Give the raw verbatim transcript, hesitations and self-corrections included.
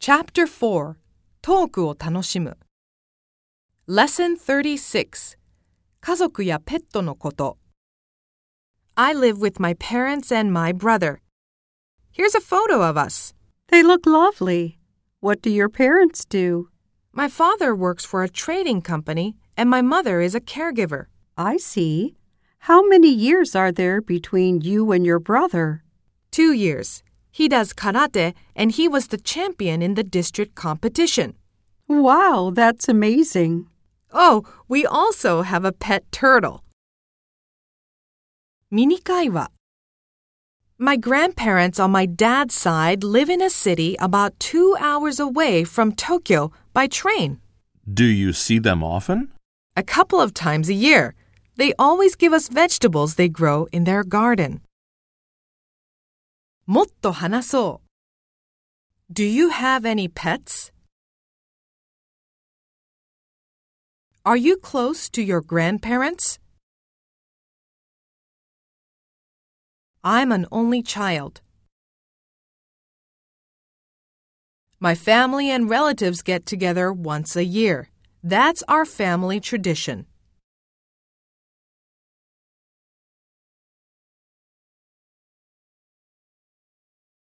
Chapter four トークを楽しむ Lesson thirty-six 家族やペットのこと I live with my parents and my brother. Here's a photo of us. They look lovely. What do your parents do? My father works for a trading company and my mother is a caregiver. I see. How many years are there between you and your brother? Two years. He does karate and he was the champion in the district competition. Wow, that's amazing. Oh, we also have a pet turtle. ミニ会話 My grandparents on my dad's side live in a city about two hours away from Tokyo by train. Do you see them often? A couple of times a year. They always give us vegetables they grow in their garden. もっと話そう Do you have any pets? Are you close to your grandparents? I'm an only child. My family and relatives get together once a year. That's our family tradition.